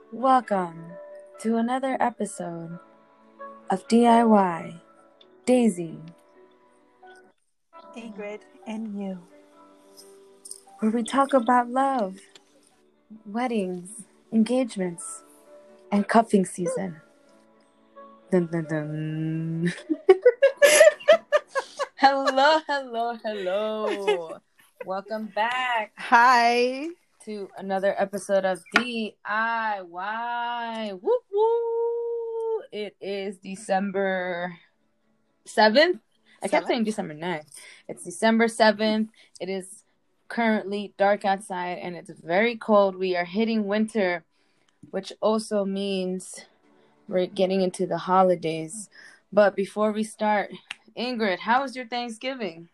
Welcome to another episode of DIY Daisy, Ingrid and you. where we talk about love, weddings, engagements, and cuffing season. Dun, dun, dun. Hello. Welcome back Hi. to another episode of DIY. Woo woo! It is December 7th. I kept saying December 9th. It's December 7th. It is currently dark outside and it's very cold. We are hitting winter, which also means we're getting into the holidays. But before we start, Ingrid, how was your Thanksgiving?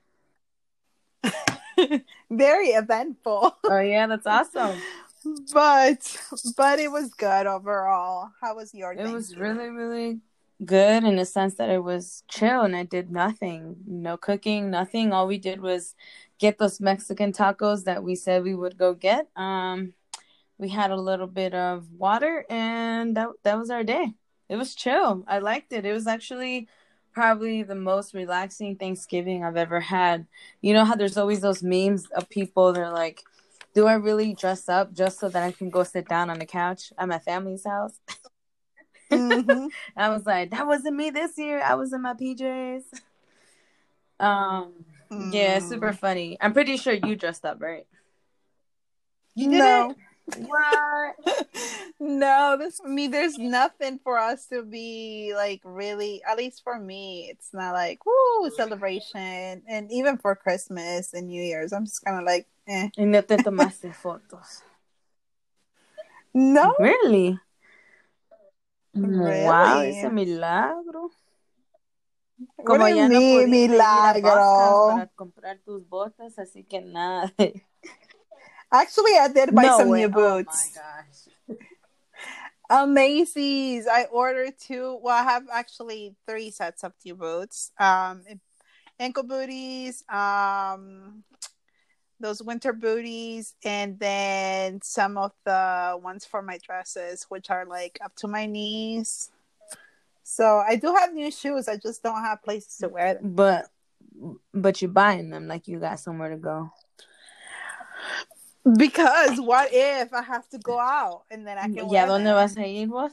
Very eventful. Oh yeah, that's awesome. But it was good overall. How was your Thanksgiving? It was really, really good in the sense that it was chill and I did nothing. No cooking, nothing. All we did was get those Mexican tacos that we said we would go get. We had a little bit of water and that was our day. It was chill. I liked it. It was actually probably the most relaxing Thanksgiving I've ever had. You know how there's always those memes of people, they're like, do I really dress up just so that I can go sit down on the couch at my family's house? Mm-hmm. I was like, that wasn't me this year. I was in my PJs. Yeah, super funny. I'm pretty sure you dressed up, right? You didn't? What? No, there's nothing for us to be like really, at least for me, it's not like woo celebration. And even for Christmas and New Year's, I'm just kind of like, eh. Y no te tomaste fotos. No. Really? Wow, ese Really? milagro. What Como do you ya no mean, pudiste ir a Boscov's milagro? para comprar tus botas, así que nada. Actually, I did buy No some way. new boots. Oh my gosh. Macy's. I ordered two. Well, I have actually 3 sets of new boots. Ankle booties, those winter booties, and then some of the ones for my dresses, which are like up to my knees. So I do have new shoes. I just don't have places to wear them. But you're buying them like you got somewhere to go. Because what if I have to go out and then I can wear ¿Dónde them? vas a ir vos?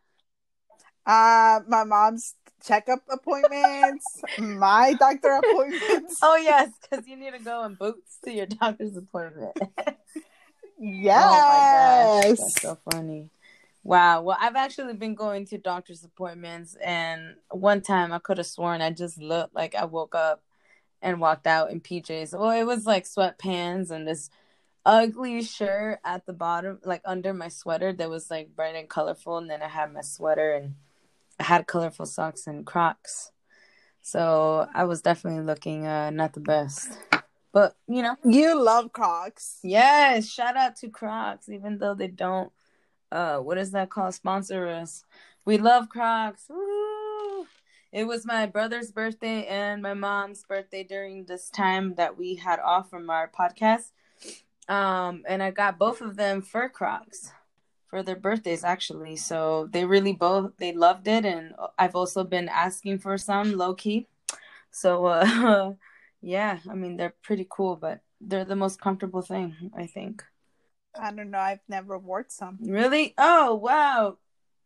My mom's checkup appointments, my doctor appointments. Oh yes, because you need to go in boots to your doctor's appointment. Yes. Oh my gosh, that's so funny. Wow. Well, I've actually been going to doctor's appointments, and one time I could have sworn I just looked like I woke up and walked out in PJs. Well, it was like sweatpants and this ugly shirt at the bottom, like under my sweater that was like bright and colorful, and then I had my sweater and I had colorful socks and Crocs. So I was definitely looking not the best. But, you know. You love Crocs. Yes, shout out to Crocs, even though they don't, what is that called? Sponsor us. We love Crocs. Woo! It was my brother's birthday and my mom's birthday during this time that we had off from our podcast. And I got both of them fur Crocs for their birthdays, actually. So they loved it. And I've also been asking for some low key. So, yeah, I mean, they're pretty cool, but they're the most comfortable thing, I think. I don't know. I've never worn some. Really? Oh, wow.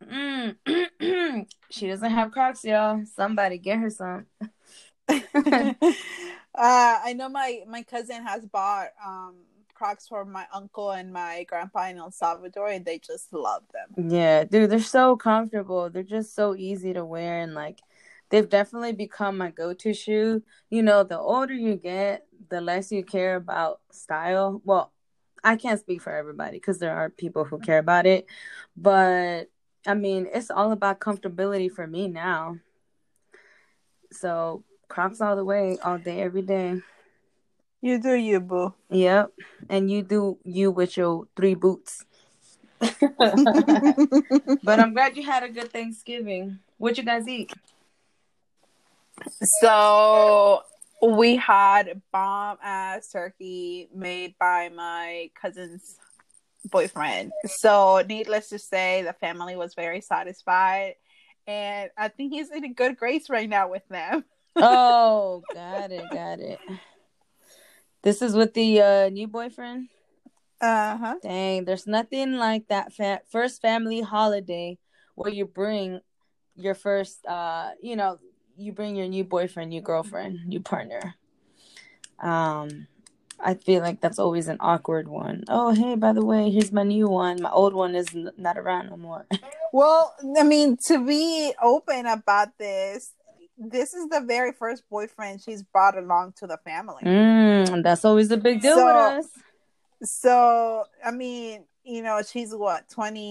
She doesn't have Crocs, y'all. Somebody get her some. I know my cousin has bought Crocs for my uncle and my grandpa in El Salvador, and they just love them. Yeah, dude, they're so comfortable. They're just so easy to wear, and like they've definitely become my go-to shoe. You know, the older you get, the less you care about style. Well, I can't speak for everybody because there are people who care about it, but I mean, it's all about comfortability for me now. So Crocs all the way, all day, every day. You do you, boo. Yep, and you do you with your 3 boots. But I'm glad you had a good Thanksgiving. What you guys eat? So we had bomb ass turkey made by my cousin's boyfriend. So, needless to say, the family was very satisfied, and I think he's in a good grace right now with them. Oh, got it, got it. This is with the new boyfriend? Uh-huh. Dang, there's nothing like that first family holiday where you bring your first, you bring your new boyfriend, new girlfriend, new partner. I feel like that's always an awkward one. Oh, hey, by the way, here's my new one. My old one is not around no more. Well, I mean, to be open about this is the very first boyfriend she's brought along to the family. That's always a big deal with So, us. I mean, she's what,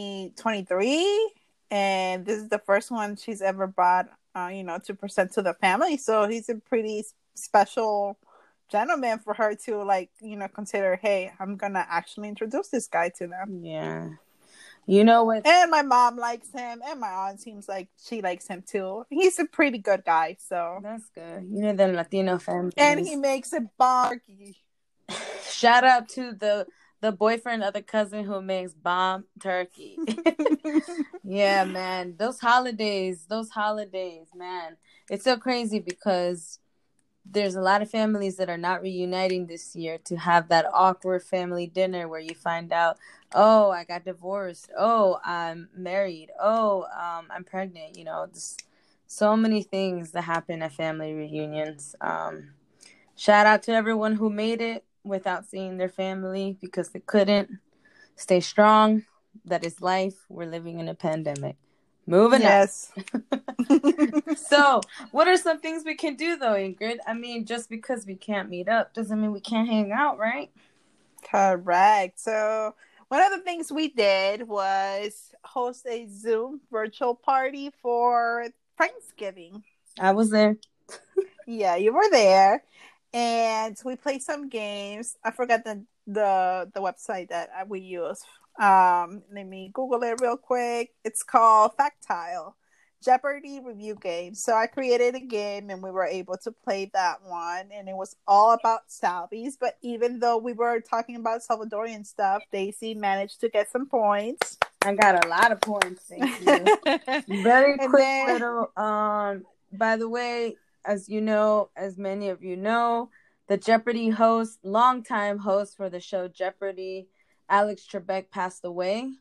23, and this is the first one she's ever brought, to present to the family. So he's a pretty special gentleman for her to, like, consider, hey, I'm gonna actually introduce this guy to them. Yeah. You know what? And my mom likes him, and my aunt seems like she likes him too. He's a pretty good guy, so. That's good. You know, the Latino families. And he makes a bomb. Shout out to the boyfriend of the cousin who makes bomb turkey. Yeah, man. Those holidays, man. It's so crazy because there's a lot of families that are not reuniting this year to have that awkward family dinner where you find out, oh, I got divorced. Oh, I'm married. Oh, I'm pregnant. You know, just so many things that happen at family reunions. Shout out to everyone who made it without seeing their family because they couldn't. Stay strong. That is life. We're living in a pandemic. Moving yes. on. So, what are some things we can do though, Ingrid? I mean, just because we can't meet up doesn't mean we can't hang out, right? Correct. So, one of the things we did was host a Zoom virtual party for Thanksgiving. I was there. Yeah, you were there. And we played some games. I forgot the website that we use. Let me Google it real quick. It's called Factile Jeopardy review game. So I created a game and we were able to play that one, and it was all about Salvies. But even though we were talking about Salvadorian stuff, Daisy managed to get some points. I got a lot of points, thank you. Very quick little by the way, as you know, as many of you know, the Jeopardy host, longtime host for the show Jeopardy, Alex Trebek, passed away.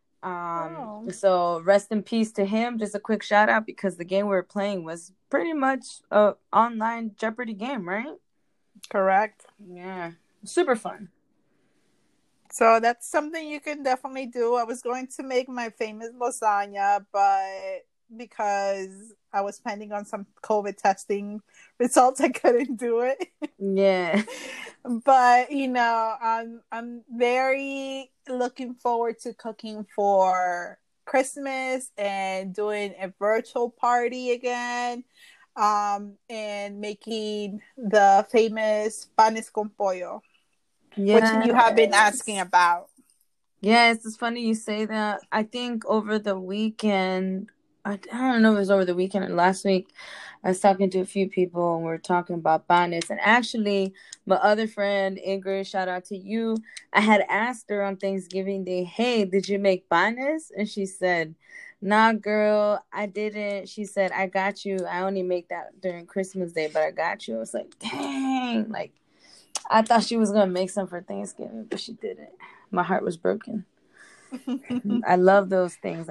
So rest in peace to him. Just a quick shout out because the game we were playing was pretty much a online Jeopardy game, right? Correct. Yeah, super fun. So that's something you can definitely do. I was going to make my famous lasagna, but because I was pending on some COVID testing results, I couldn't do it. Yeah. But I'm very looking forward to cooking for Christmas and doing a virtual party again, and making the famous panes con pollo, which you have been asking about. Yes, it's funny you say that. I think over the weekend, I don't know if it was over the weekend or last week, I was talking to a few people and we were talking about panes. And actually, my other friend, Ingrid, shout out to you. I had asked her on Thanksgiving Day, hey, did you make panes? And she said, nah, girl, I didn't. She said, I got you. I only make that during Christmas Day, but I got you. I was like, dang. Like, I thought she was going to make some for Thanksgiving, but she didn't. My heart was broken. I love those things.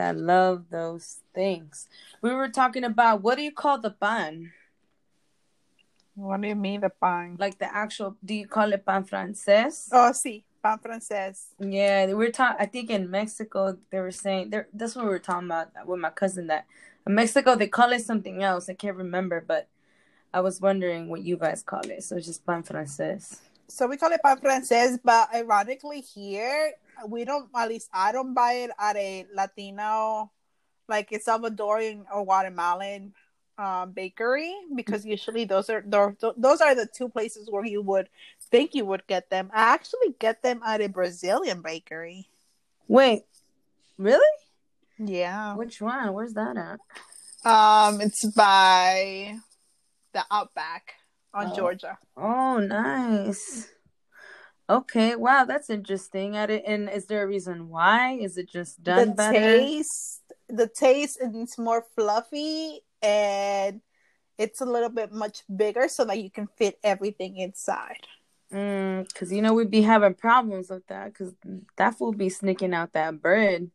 We were talking about, what do you call the pan? What do you mean the pan? Like the actual, do you call it pan francés? Oh, sí, pan francés. Yeah, we were talking, I think in Mexico, they were saying, that's what we were talking about with my cousin, that in Mexico, they call it something else. I can't remember, but I was wondering what you guys call it. So it's just pan francés. So we call it pan francés, but ironically here, we don't, at least I don't buy it at a Latino, like a Salvadorian or Guatemalan bakery, because usually those are the two places where you would think you would get them. I actually get them at a Brazilian bakery. Wait, really? Yeah. Which one? Where's that at? It's by the Outback on Georgia. Oh, nice. Okay, wow, that's interesting. And is there a reason why? Is it just The done better? taste is more fluffy, and it's a little bit much bigger so that you can fit everything inside. Cause we'd be having problems with that, cause that fool be sneaking out that bread.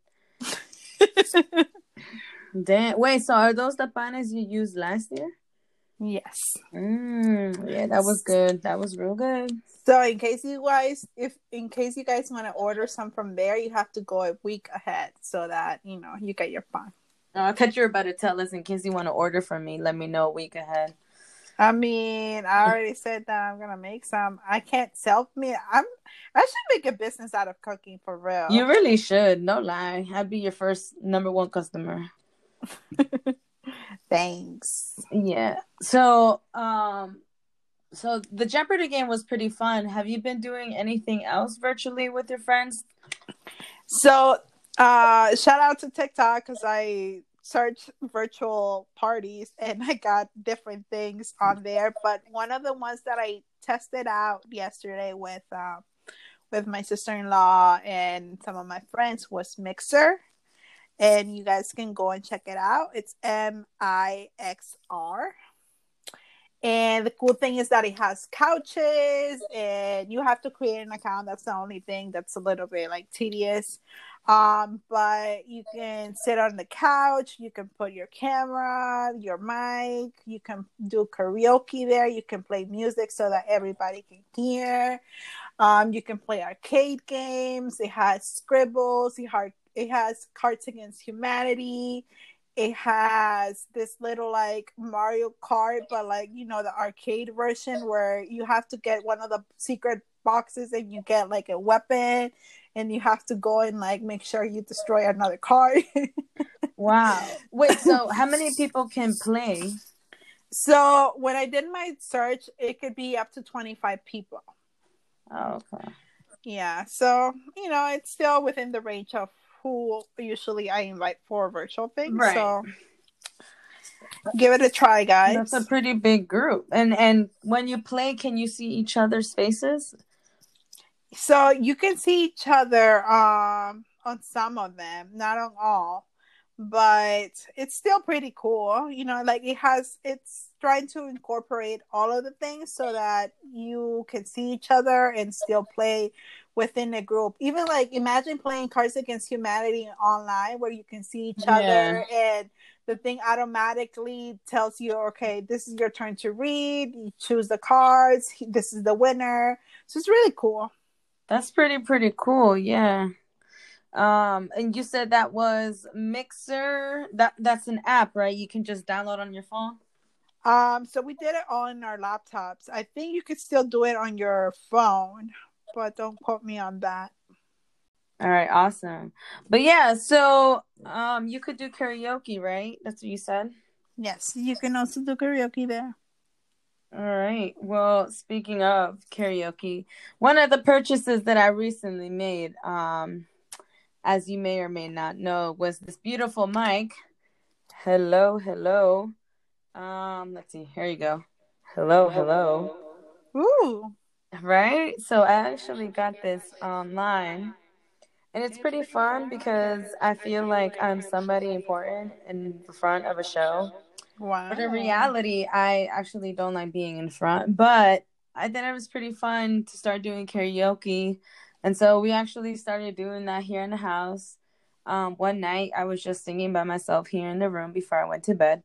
Damn. Wait, so are those the panes you used last year? Yes. Yeah, that was good. That was real good. So in case you guys want to order some from there, you have to go a week ahead so that you get your pan. I thought you were about to tell us in case you want to order from me. Let me know a week ahead. I mean, I already said that I'm gonna make some. I can't self me. I should make a business out of cooking for real. You really should. No lie. I'd be your first number one customer. Thanks. Yeah. So the Jeopardy game was pretty fun. Have you been doing anything else virtually with your friends? So, shout out to TikTok because I searched virtual parties and I got different things on there. But one of the ones that I tested out yesterday with my sister-in-law and some of my friends was Mixer, and you guys can go and check it out. It's Mixr. And the cool thing is that it has couches, and you have to create an account. That's the only thing that's a little bit like tedious. But you can sit on the couch, you can put your camera, your mic, you can do karaoke there, you can play music so that everybody can hear. You can play arcade games. It has scribbles. It has Cards Against Humanity. It has this little like Mario Kart, but like the arcade version where you have to get one of the secret boxes and you get like a weapon and you have to go and like make sure you destroy another card. Wow. Wait, so how many people can play? So when I did my search, it could be up to 25 people. Oh, okay. Yeah, so it's still within the range of who usually I invite for virtual things. Right. So give it a try, guys. That's a pretty big group. And when you play, can you see each other's faces? So you can see each other on some of them, not on all, but it's still pretty cool. Like it's trying to incorporate all of the things so that you can see each other and still play within a group. Even like imagine playing Cards Against Humanity online where you can see each other and the thing automatically tells you, okay, this is your turn to read. You choose the cards. This is the winner. So it's really cool. That's pretty cool. Yeah. And you said that was Mixer. That's an app, right? You can just download on your phone. So we did it on our laptops. I think you could still do it on your phone, but don't quote me on that. All right, awesome. But yeah, so you could do karaoke, right? That's what you said. Yes, you can also do karaoke there. All right. Well, speaking of karaoke, one of the purchases that I recently made, as you may or may not know, was this beautiful mic. Hello, hello. Let's see. Here you go. Hello, hello. Ooh. Right? So I actually got this online. And it's pretty fun because I feel like I'm somebody important in the front of a show. Wow. But in reality, I actually don't like being in front. But I thought it was pretty fun to start doing karaoke. And so we actually started doing that here in the house. One night I was just singing by myself here in the room before I went to bed.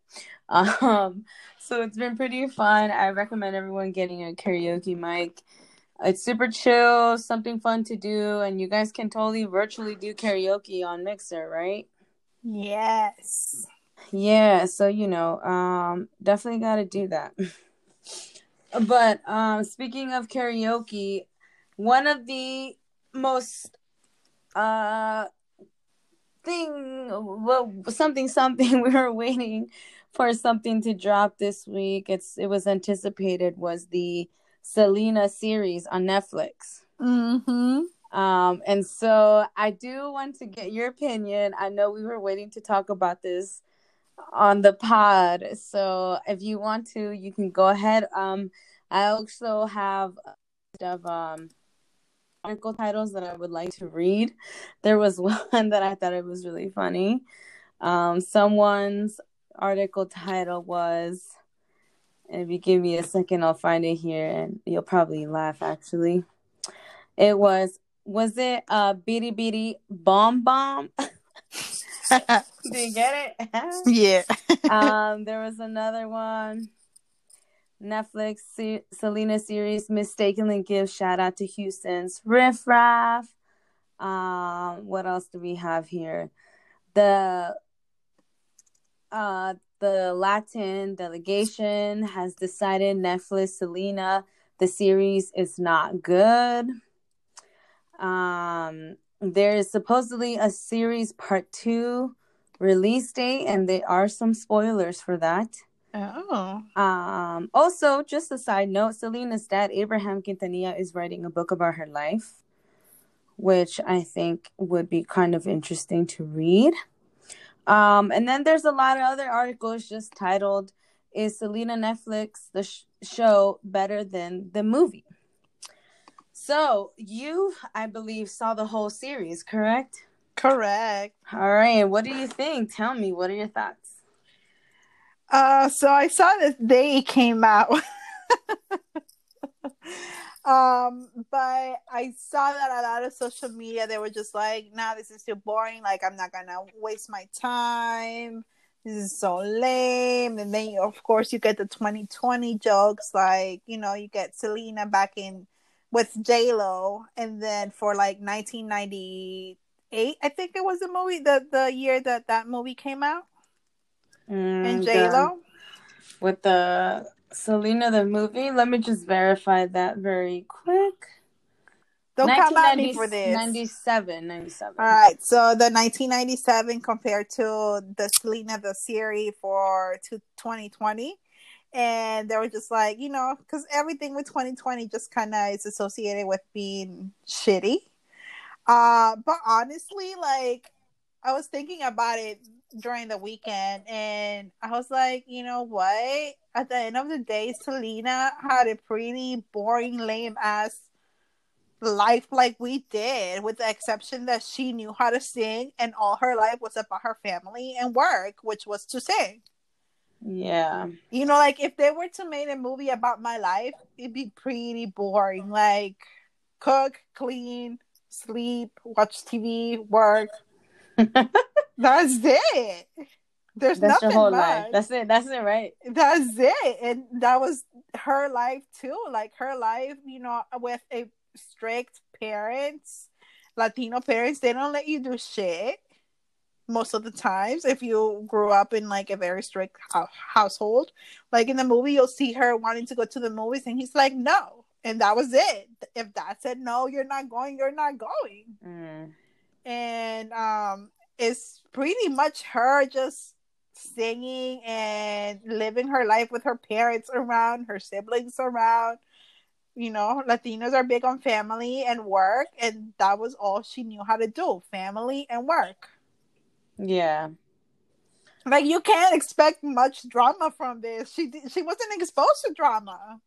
So it's been pretty fun. I recommend everyone getting a karaoke mic. It's super chill, something fun to do, and you guys can totally virtually do karaoke on Mixer, right? Yes. Yeah, so definitely got to do that. But speaking of karaoke, one of the most something we were waiting for something to drop this week. It was anticipated was the Selena series on Netflix. Mm-hmm. And so I do want to get your opinion. I know we were waiting to talk about this on the pod. So if you want to, you can go ahead. I also have of article titles that I would like to read. There was one that I thought it was really funny. Someone's article title was, and if you give me a second, I'll find it here, and you'll probably laugh. Actually, it was it Beady Beady Bomb Bomb? Did you get it? Yeah. There was another one. Netflix Selena series mistakenly gives shout out to Houston's Riff Raff. What else do we have here? The Latin delegation has decided Netflix Selena the series is not good. There is supposedly a series part 2 release date, and there are some spoilers for that. Oh. Also, just a side note, Selena's dad, Abraham Quintanilla, is writing a book about her life, which I think would be kind of interesting to read. And then there's a lot of other articles just titled, "Is Selena Netflix the show better than the movie?" So you, I believe, saw the whole series, correct? Correct. All right. What do you think? Tell me. What are your thoughts? So I saw that they came out. But I saw that a lot of social media, they were just like, nah, this is too boring. Like, I'm not gonna waste my time. This is so lame. And then, of course, you get the 2020 jokes. Like, you know, you get Selena back in with J-Lo. And then for like 1998, I think it was the movie, the year that movie came out. And J-Lo. With the Selena the movie. Let me just verify that very quick. Don't come at me for this. 97. All right. So the 1997 compared to the Selena the series for 2020. And they were just like, you know, because everything with 2020 just kind of is associated with being shitty. But honestly, like, I was thinking about it during the weekend, and I was like, you know what? At the end of the day, Selena had a pretty boring, lame ass life like we did, with the exception that she knew how to sing, and all her life was about her family and work, which was to sing. Yeah. You know, like, if they were to make a movie about my life, it'd be pretty boring. Like, cook, clean, sleep, watch TV, work. That's it. That's nothing your whole much. life. That's it, right? That's it. And that was her life too. Like, her life, you know, with a strict parents, Latino parents, they don't let you do shit most of the times if you grew up in like a very strict household. Like, in the movie, you'll see her wanting to go to the movies, and he's like, no. And that was it. If Dad said no, you're not going, you're not going. And it's pretty much her just singing and living her life with her parents around, her siblings around. You know, Latinos are big on family and work, and that was all she knew how to do, family and work. Yeah. Like, you can't expect much drama from this. She wasn't exposed to drama.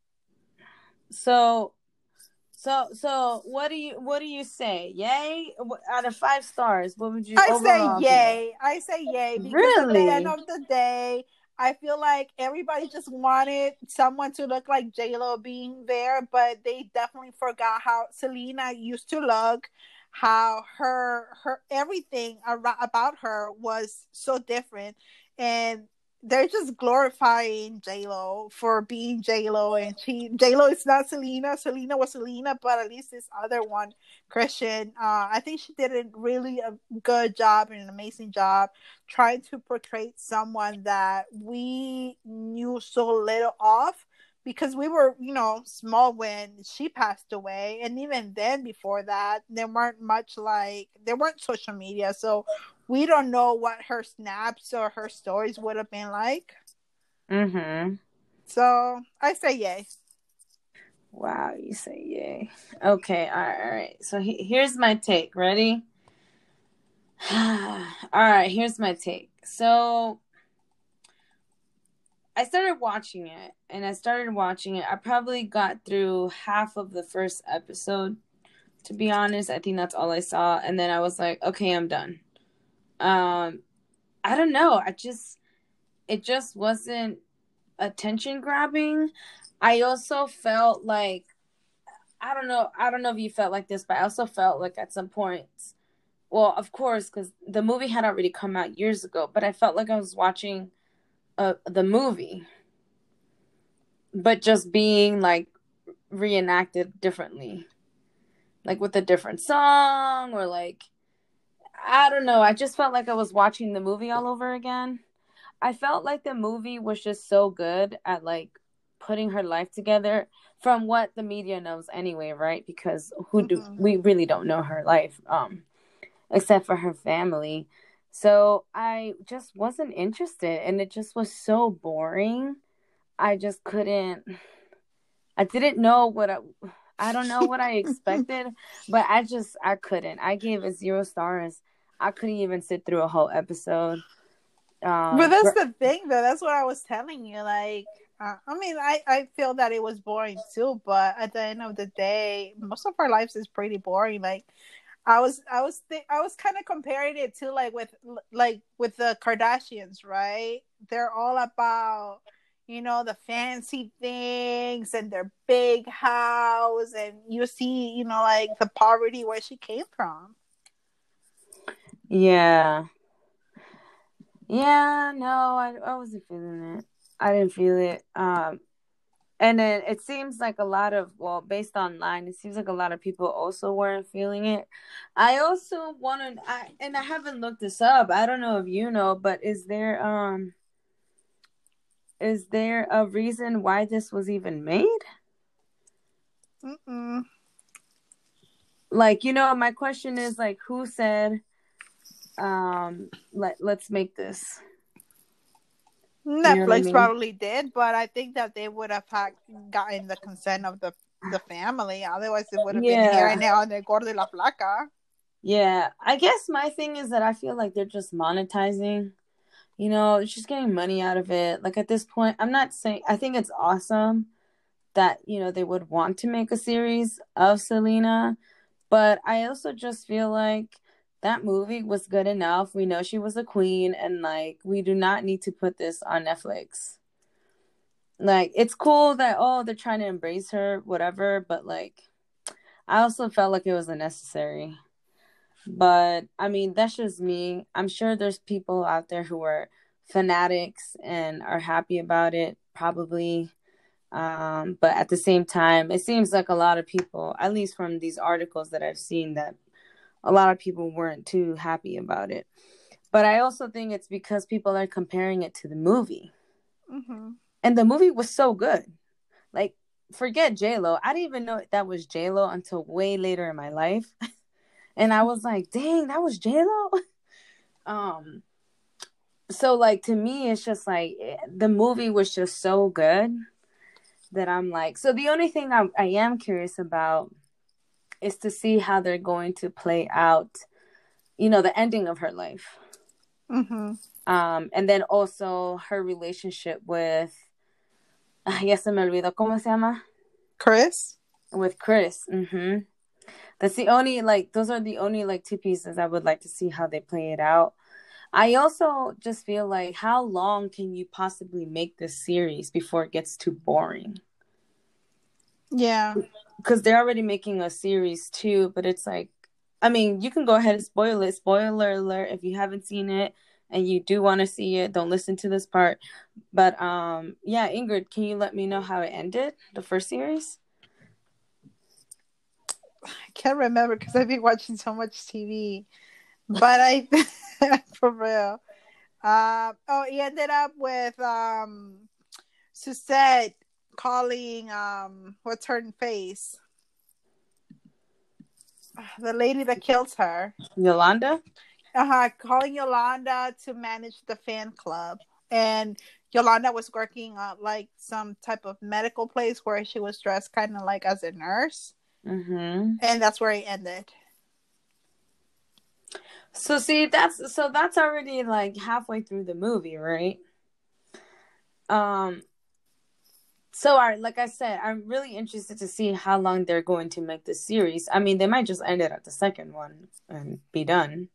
So what do you say? Yay? Out of 5 stars, what would you overall say yay. I say yay because really? at the end of the day, I feel like everybody just wanted someone to look like J-Lo being there, but they definitely forgot how Selena used to look, how her everything about her was so different, and they're just glorifying J-Lo for being J-Lo, and J-Lo is not Selena. Selena was Selena, but at least this other one, Christian, I think she did a really good job and an amazing job trying to portray someone that we knew so little of, because we were, you know, small when she passed away, and even then, before that, there weren't social media, so we don't know what her snaps or her stories would have been like. So I say yay. Wow, you say yay. Okay, all right. So here's my take. Ready? All right, here's my take. So I started watching it. I probably got through half of the first episode To be honest, I think that's all I saw, and then I was like, okay, I'm done. I don't know. It just wasn't attention grabbing. I also felt like I don't know if you felt like this, but I also felt like at some points, well, of course, because the movie had already come out years ago, but I felt like I was watching the movie, but just being like reenacted differently, like with a different song or like I don't know. I just felt like I was watching the movie all over again. I felt like the movie was just so good at like putting her life together from what the media knows anyway, right? Because we really don't know her life except for her family. So I just wasn't interested and it just was so boring. I just couldn't I didn't know I don't know what I expected, but I couldn't. I gave it 0 stars. I couldn't even sit through a whole episode. But that's the thing, though. That's what I was telling you. Like, I mean, I feel that it was boring too. But at the end of the day, most of our lives is pretty boring. Like, I was kind of comparing it to like with the Kardashians, right? They're all about the fancy things and their big house, and you see like the poverty where she came from. Yeah. Yeah, no, I wasn't feeling it. I didn't feel it. And then it seems like a lot of, well, based online, it seems like a lot of people also weren't feeling it. I also wanted, and I haven't looked this up. I don't know if you know, but is there a reason why this was even made? Mm-mm. Like, my question is like, who said, let's make this? You know what I Netflix mean? probably did, but I think that they would have gotten the consent of the family. Otherwise, it would have been Yeah. hearing it on the Gordo y la Flaca. Yeah. I guess my thing is that I feel like they're just monetizing. It's just getting money out of it. Like at this point, I'm not saying I think it's awesome that, they would want to make a series of Selena, but I also just feel like that movie was good enough. We know she was a queen and like we do not need to put this on Netflix. Like it's cool that they're trying to embrace her, whatever, but like I also felt like it was unnecessary. But I mean, that's just me. I'm sure there's people out there who are fanatics and are happy about it, probably. But at the same time, it seems like a lot of people, at least from these articles that I've seen, that a lot of people weren't too happy about it. But I also think it's because people are comparing it to the movie. Mm-hmm. And the movie was so good. Like, forget J-Lo. I didn't even know that was J-Lo until way later in my life. And I was like, dang, that was J-Lo? So like to me it's just like the movie was just so good that I'm like, so the only thing I am curious about is to see how they're going to play out, the ending of her life. Mm-hmm. And then also her relationship with ya se me olvidó cómo se llama, Chris. with Chris. That's the only like those are the only like two pieces I would like to see how they play it out. I also just feel like how long can you possibly make this series before it gets too boring? Yeah. Because they're already making a series too, but it's like, I mean, you can go ahead and spoil it. Spoiler alert if you haven't seen it and you do want to see it, don't listen to this part. But yeah, Ingrid, can you let me know how it ended, the first series? I can't remember because I've been watching so much TV. But I, for real. He ended up with Suzette calling what's her face, the lady that kills her. Yolanda? Calling Yolanda to manage the fan club, and Yolanda was working at like some type of medical place where she was dressed kind of like as a nurse, and that's where it ended. So see, that's already like halfway through the movie, right? So, like I said, I'm really interested to see how long they're going to make this series. I mean, they might just end it at the second one and be done.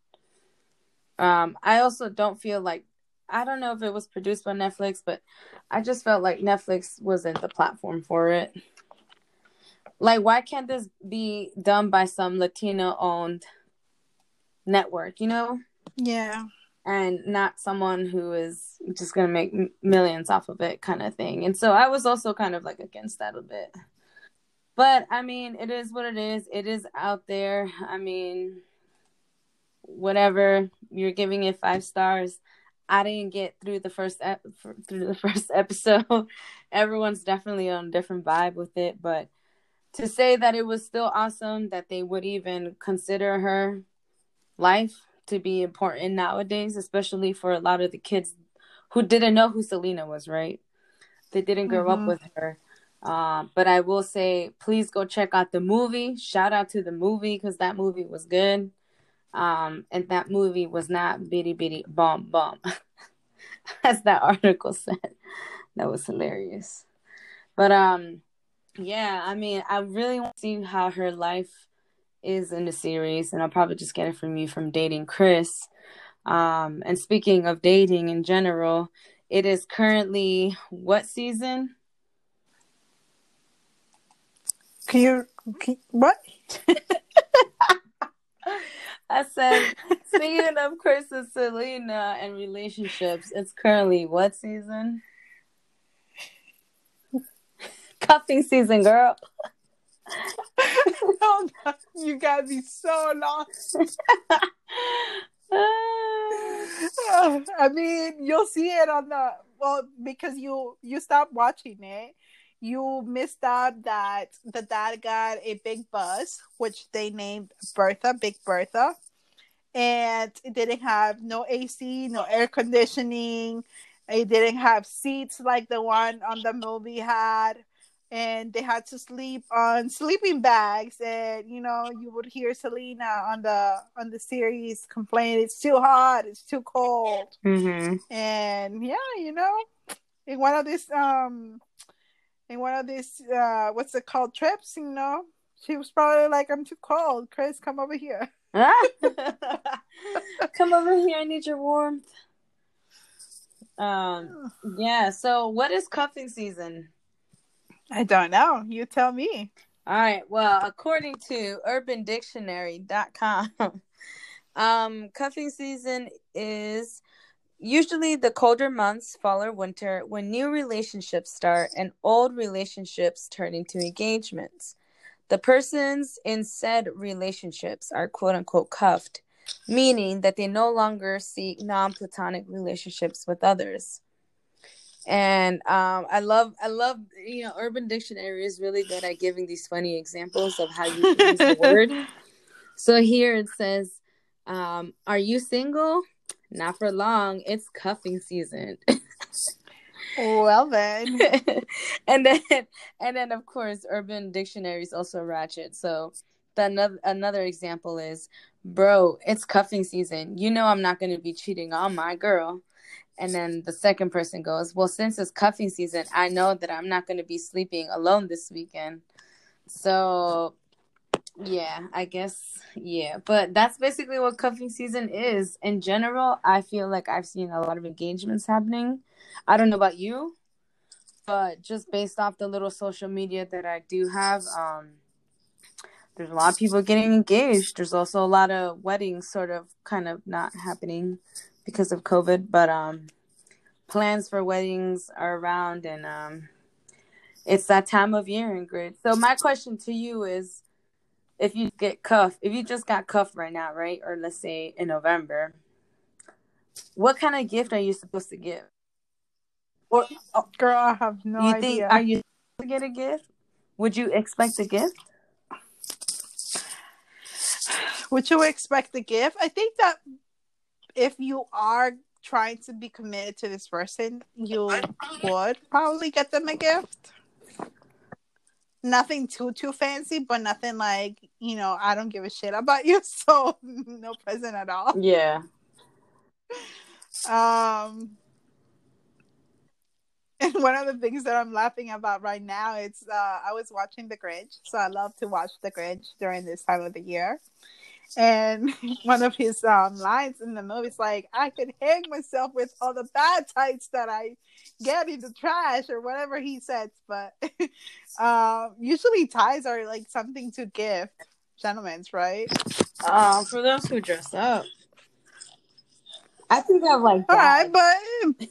I also don't feel like, I don't know if it was produced by Netflix, but I just felt like Netflix wasn't the platform for it. Like, why can't this be done by some Latino-owned network, you know? Yeah. And not someone who is just going to make millions off of it kind of thing. And so I was also kind of like against that a bit. But, I mean, it is what it is. It is out there. I mean, whatever. You're giving it 5 stars. I didn't get through the first episode. Everyone's definitely on a different vibe with it. But to say that it was still awesome, that they would even consider her life to be important nowadays, especially for a lot of the kids who didn't know who Selena was, right? They didn't grow up with her. But I will say, please go check out the movie. Shout out to the movie, because that movie was good. And that movie was not bitty bitty bomb bomb, as that article said. That was hilarious. But yeah, I mean, I really want to see how her life is in the series, and I'll probably just get it from you from dating Chris. And speaking of dating in general, it is currently what season? What? I said, speaking of Chris and Selena and relationships, it's currently what season? Cuffing season, girl. Oh, no, you got me so lost. I mean, you'll see it on because you stopped watching it. You missed out that the dad got a big bus, which they named Bertha, Big Bertha. And it didn't have no AC, no air conditioning. It didn't have seats like the one on the movie had. And they had to sleep on sleeping bags. And you would hear Selena on the series complain, it's too hot, it's too cold. Mm-hmm. And yeah, in one of these what's it called, trips, she was probably like, I'm too cold, Chris, come over here. Come over here, I need your warmth. Yeah, so what is cuffing season? I don't know. You tell me. All right. Well, according to urbandictionary.com, cuffing season is usually the colder months, fall or winter, when new relationships start and old relationships turn into engagements. The persons in said relationships are quote unquote cuffed, meaning that they no longer seek non-platonic relationships with others. And I love Urban Dictionary is really good at giving these funny examples of how you use the word. So here it says, are you single? Not for long. It's cuffing season. Well then. and then of course Urban Dictionary is also ratchet. So another example is, bro, it's cuffing season. I'm not going to be cheating on my girl. And then the second person goes, well, since it's cuffing season, I know that I'm not going to be sleeping alone this weekend. So, yeah, I guess, yeah. But that's basically what cuffing season is. In general, I feel like I've seen a lot of engagements happening. I don't know about you, but just based off the little social media that I do have, there's a lot of people getting engaged. There's also a lot of weddings sort of kind of not happening because of COVID, but plans for weddings are around, and it's that time of year, Ingrid. So my question to you is, if you just got cuffed right now, right? Or let's say in November, what kind of gift are you supposed to give? Or, girl, I have no idea. Are you supposed to get a gift? Would you expect a gift? Would you expect a gift? I think that if you are trying to be committed to this person, you would probably get them a gift. Nothing too fancy, but nothing like, I don't give a shit about you, so no present at all. Yeah. And one of the things that I'm laughing about right now, it's I was watching The Grinch, so I love to watch The Grinch during this time of the year. And one of his lines in the movie is like, "I could hang myself with all the bad tights that I get in the trash," or whatever he says. But usually ties are like something to gift, gentlemen's, right? For those who dress up, I think of like All right, bags. but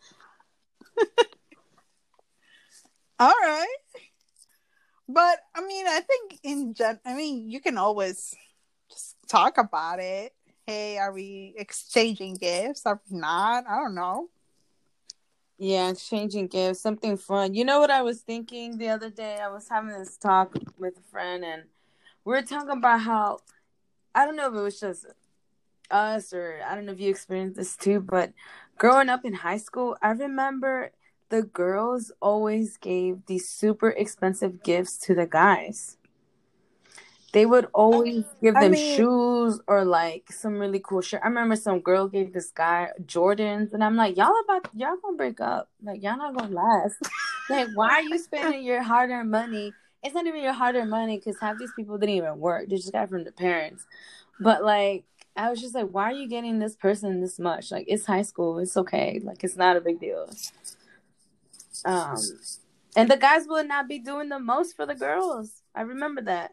all right. But I mean, I think I mean, you can always just talk about it. Hey, are we exchanging gifts? Are we not? I don't know. Yeah, exchanging gifts, something fun. You know what I was thinking the other day? I was having this talk with a friend, and we were talking about how, I don't know if it was just us, or I don't know if you experienced this too, but growing up in high school, I remember the girls always gave these super expensive gifts to the guys. They would always give I them mean, shoes or like some really cool shirt. I remember some girl gave this guy Jordans, and I'm like, y'all gonna break up. Like, y'all not gonna last. Like, why are you spending your hard earned money? It's not even your hard earned money, because half these people didn't even work. They just got it from their parents. But like, I was just like, why are you getting this person this much? Like, it's high school. It's okay. Like, it's not a big deal. Um, and the guys would not be doing the most for the girls. I remember that.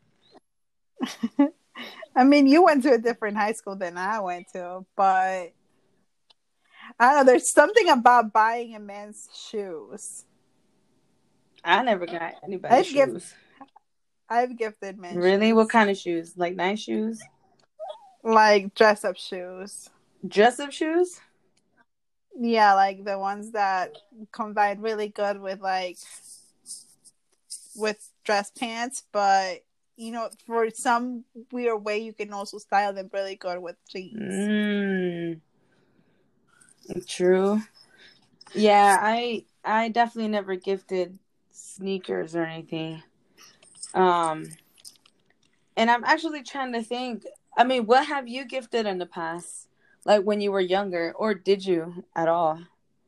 I mean, you went to a different high school than I went to, but I don't know. There's something about buying a man's shoes. I never got anybody's I've gift shoes. I've gifted men Really? What shoes, kind of shoes? Like nice shoes? like dress up shoes. Dress up shoes? Yeah, like the ones that combine really good with with dress pants, but for some weird way, you can also style them really good with jeans. True. Yeah, I definitely never gifted sneakers or anything. Um, and I'm actually trying to think. I mean, what have you gifted in the past? Like when you were younger, or did you at all?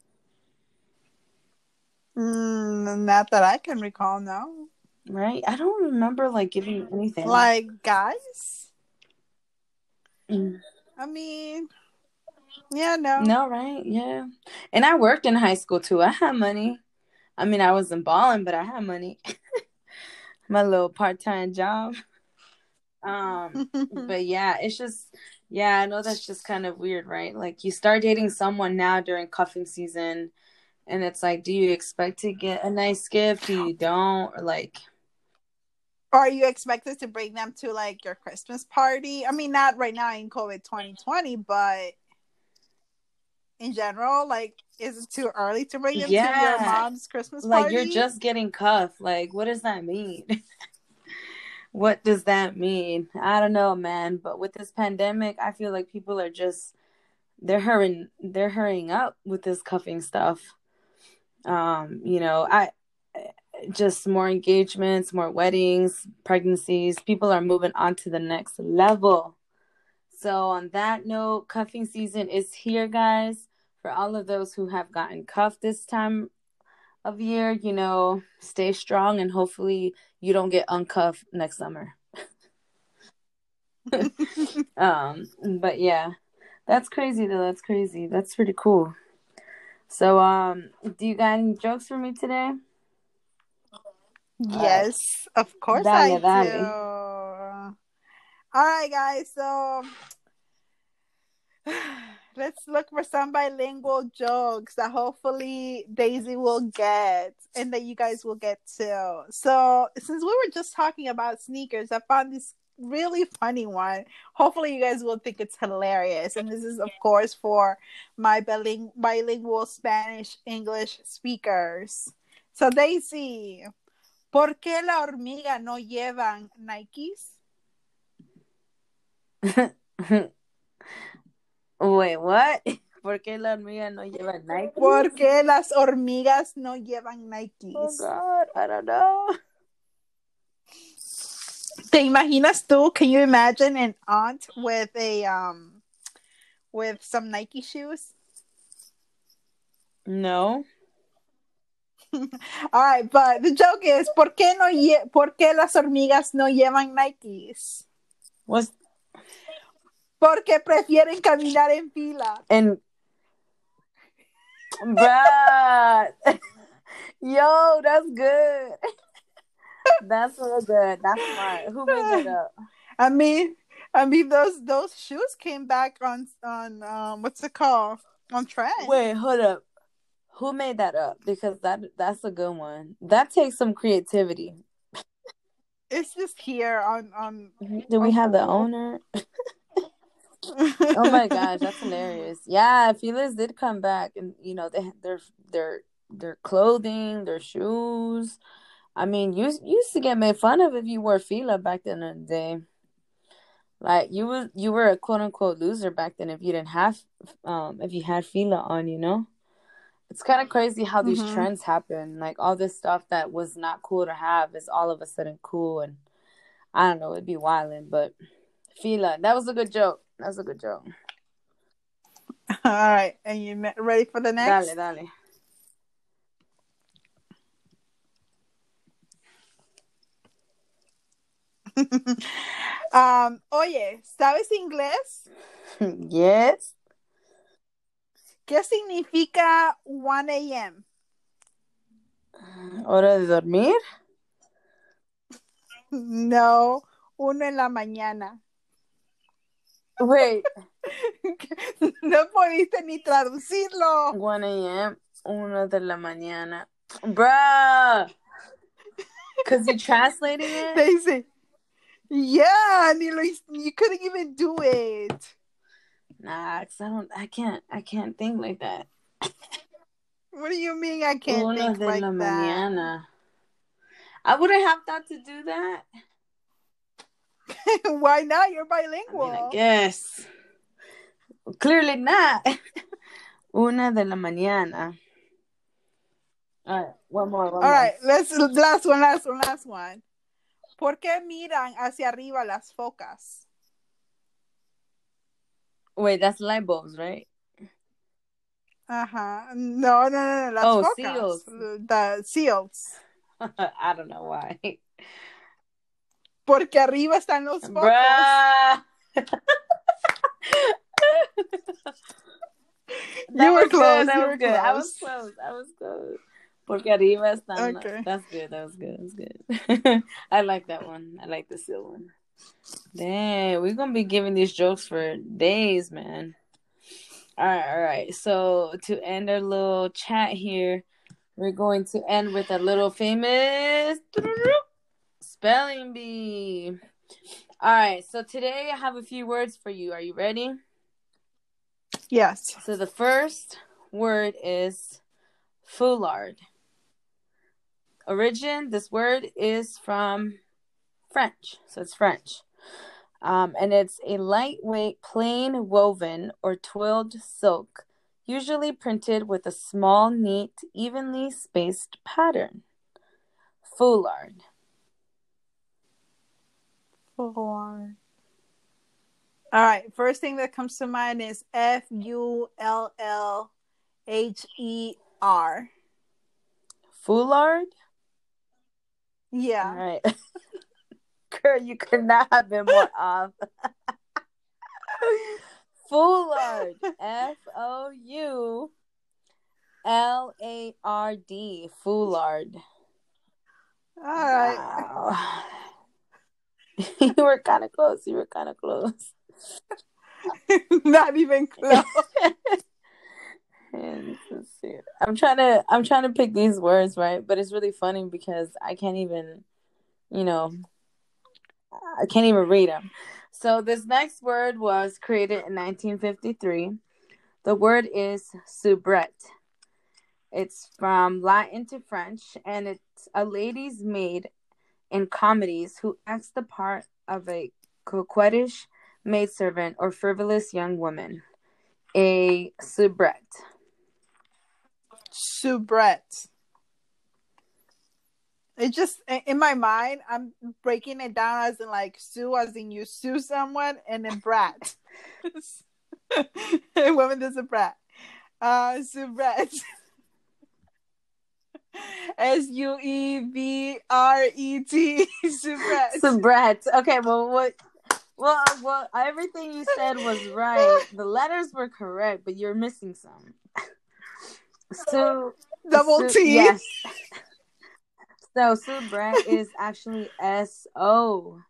Not that I can recall, no. Right? I don't remember like giving anything. Like guys, Mm. I mean, yeah, no. No, right? Yeah. And I worked in high school too. I had money. I mean, I wasn't balling, but I had money. My little part-time job. But yeah, it's just, yeah, I know that's just kind of weird, right? Like you start dating someone now during cuffing season, and it's like, do you expect to get a nice gift? Do you don't? Or like, Or are you expected to bring them to like your Christmas party? I mean, not right now in COVID 2020, but in general, like, is it too early to bring them to your yeah, mom's Christmas like you're party? just getting cuffed. Like, what does that mean? What does that mean? I don't know, man. But with this pandemic, I feel like people are just, they're hurrying up with this cuffing stuff. I just more engagements, more weddings, pregnancies. People are moving on to the next level. So on that note, cuffing season is here, guys. For all of those who have gotten cuffed this time of year, stay strong, and hopefully you don't get uncuffed next summer. But yeah, that's crazy though. That's crazy. That's pretty cool. So, do you got any jokes for me today? All right. Yes, of course I Dale, do. dale. All right, guys. So let's look for some bilingual jokes that hopefully Daisy will get and that you guys will get too. So, since we were just talking about sneakers, I found this really funny one. Hopefully, you guys will think it's hilarious. And this is, of course, for my bilingual Spanish English speakers. So, Daisy, ¿por qué la hormiga no llevan Nikes? Wait, what? ¿Por qué la hormiga no lleva Nike? ¿Por qué las hormigas no llevan Nikes? Oh God, I don't know. ¿Te imaginas tú? Can you imagine an aunt with with some Nike shoes? No. All right, but the joke is, ¿por qué las hormigas no llevan Nikes? What's Porque prefieren caminar en fila. and bruh. Yo, that's good. That's so good. That's smart. Who made that up? I mean, those shoes came back on what's it called, on trend. Wait, hold up. Who made that up? Because that's a good one. That takes some creativity. It's just here on. Do we have the Google. owner? Oh my gosh, that's hilarious. Yeah, Feelers did come back, and you know their clothing, their shoes. I mean, you used to get made fun of if you wore Fila back then in the day. Like you were a quote unquote loser back then if you didn't have if you had Fila on, you know? It's kind of crazy how these trends happen. Like all this stuff that was not cool to have is all of a sudden cool, and I don't know, it'd be wilding, but Fila, that was a good joke. That was a good joke. All right, and you ready for the next? Dale. Oye, ¿sabes inglés? Yes. ¿Qué significa 1 a.m.? ¿Hora de dormir? No, 1 en la mañana. Wait. No pudiste ni traducirlo. 1 a.m., 1 de la mañana. Bruh. Because you're translating it? Daisy. Yeah, you couldn't even do it. Nah, cause I can't think like that. What do you mean I can't think like that? Mañana. I wouldn't have thought to do that. Why not? You're bilingual. I guess. Clearly not. 1 de la mañana. All right, one more. All right, last one. ¿Por qué miran hacia arriba las focas? Wait, that's light bulbs, right? No, las focas. Seals. The seals. I don't know why. Porque arriba están los focos. Bruh. You were close. I was close. Porque arriba están. Okay. That's good. That was good. I like that one. I like the seal one. Dang, we're gonna be giving these jokes for days, man. All right. So to end our little chat here, we're going to end with a little famous spelling bee. All right. So today I have a few words for you. Are you ready? Yes. So the first word is foulard. This word is from French. So it's French. And it's a lightweight, plain woven or twilled silk, usually printed with a small, neat, evenly spaced pattern. Foulard. Foulard. All right. First thing that comes to mind is Fullher. Foulard? Yeah. All right. Girl, you could not have been more off. Foulard. Foulard. Foulard. All right. Wow. You were kind of close. Not even close. I'm trying to pick these words, right? But it's really funny because I can't even read them. So this next word was created in 1953. The word is soubrette. It's from Latin to French, and it's a lady's maid in comedies who acts the part of a coquettish maidservant or frivolous young woman. A soubrette. Soubrette. It just, in my mind, I'm breaking it down as in like sue, as in you sue someone, and then brat. Woman is a brat. Soubrette. Subret. Subret. Subret. Okay, well, what? Well, everything you said was right. The letters were correct, but you're missing some. So, Double T. yes. So Subret is actually SOUBRETTE.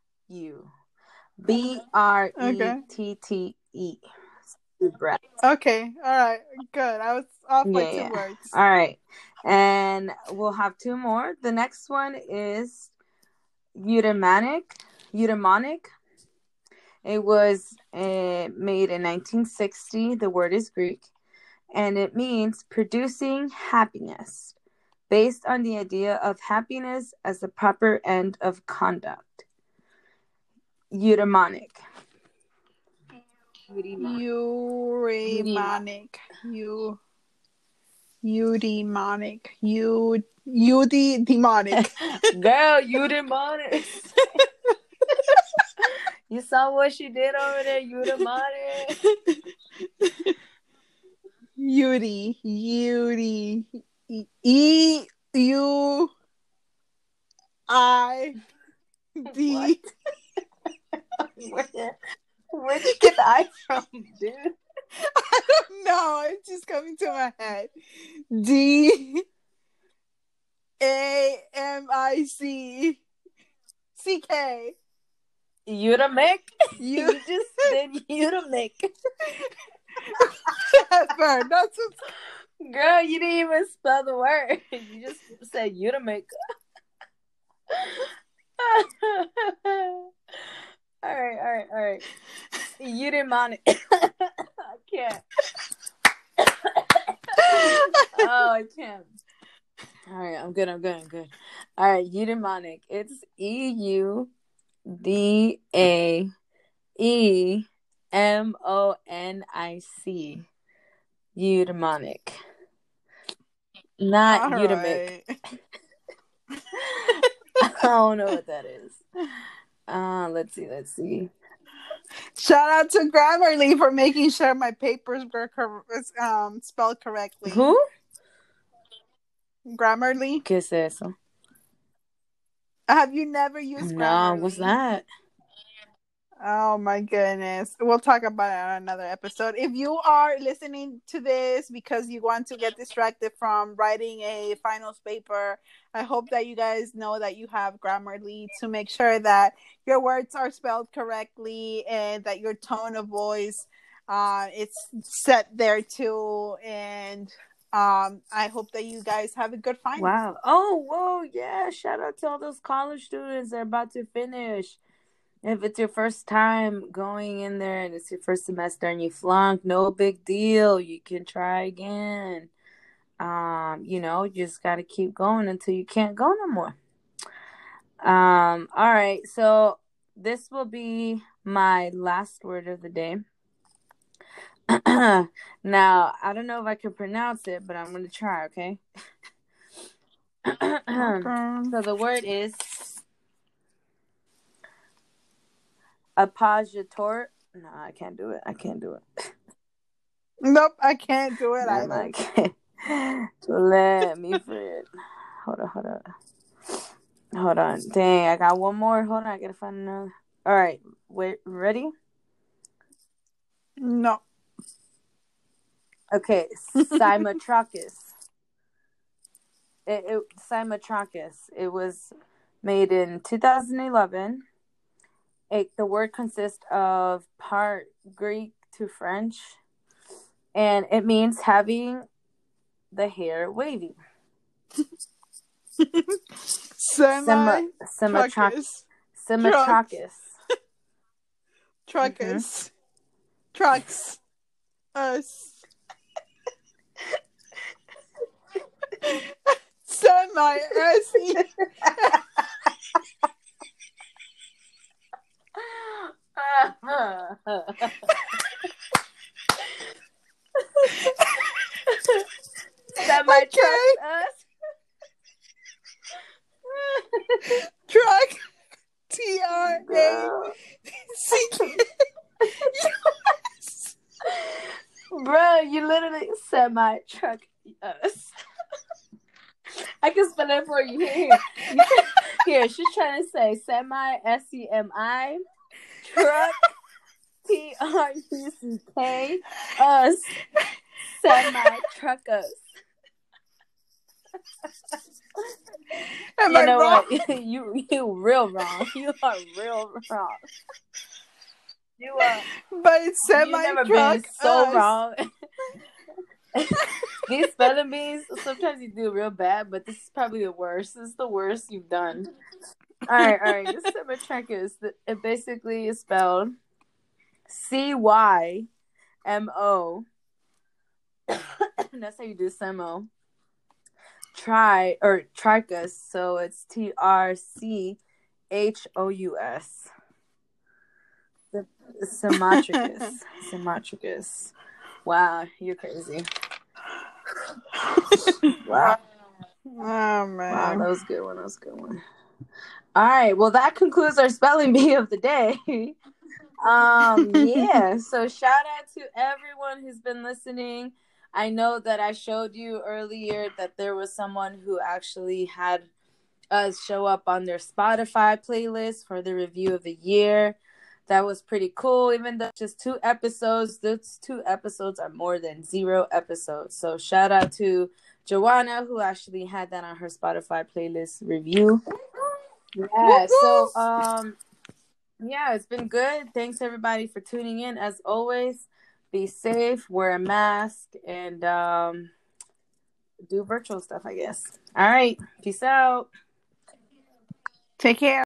Subret. Okay, all right, good. I was off by two Yeah. words. All right, and we'll have two more. The next one is eudaimonic. Eudaimonic. It was made in 1960. The word is Greek, and it means producing happiness, based on the idea of happiness as the proper end of conduct. Eudaimonic. Eudaimonic. Eudaimonic. Eudaimonic. Girl, eudaimonic. You saw what she did over there, eudaimonic. Yudi. EUID. Where'd you get the I from, dude? I don't know. It's just coming to my head. DAMICCK. Eudaimic? You just said eudaimic. Whatever. That's what... Girl, you didn't even spell the word. You just said eudaimic. All right. Eudaimonic. I can't. Oh, I can't. All right, I'm good. All right, eudaimonic. It's EUDAEMONIC. Eudaimonic. Not eudaimic. Right. I don't know what that is. Let's see. Shout out to Grammarly for making sure my papers were spelled correctly. Who? Grammarly. ¿Qué es eso? Have you never used Grammarly? No, what's that? Oh my goodness. We'll talk about it on another episode. If you are listening to this because you want to get distracted from writing a finals paper, I hope that you guys know that you have Grammarly to make sure that your words are spelled correctly and that your tone of voice it's set there too. And I hope that you guys have a good final. Wow. Oh, whoa, yeah. Shout out to all those college students that are about to finish. If it's your first time going in there and it's your first semester and you flunk, no big deal. You can try again. You just got to keep going until you can't go no more. All right. So this will be my last word of the day. Now, I don't know if I can pronounce it, but I'm going to try, okay? So the word is appoggiator. No, I can't do it. Nope, I can't do it either. I can't. Let me for it. Hold on. Dang, I got one more. Hold on, I gotta find another. All right, wait, ready? No. Okay, Cymatrachus. Cymatrachus. It was made in 2011. The word consists of part Greek to French, and it means having the hair wavy. Semi-trachus. Cymatrachus. Trachus. Trucks. Us. Semi-S-E. Semi-trachus. Truck. T-R-A-C-K-U-S. Bro, you literally semi-truck us. I can spell it for you. Here, she's trying to say semi, SEMI, truck, TRUCK, us, semi, truckers. Am You I know wrong? what? You real wrong. You are real wrong. You are. But it's You've never been semi-truck so us. wrong. These spelling bees, sometimes you do real bad, but this is probably the worst. This is the worst you've done. All right. This semi-truckers, it basically is spelled CYMO. That's how you do semo. Tricus, so it's TRCHOUS. Sematricus. Wow, you're crazy. Wow. Oh man. Wow, that was a good one. All right, well that concludes our spelling bee of the day. Yeah, so shout out to everyone who's been listening. I know that I showed you earlier that there was someone who actually had us show up on their Spotify playlist for the review of the year. That was pretty cool. Even though just 2 episodes, those 2 episodes are more than 0 episodes. So shout out to Joanna, who actually had that on her Spotify playlist review. Yeah, so yeah, it's been good. Thanks everybody for tuning in. As always, be safe, wear a mask, and do virtual stuff, I guess. All right, peace out. Take care.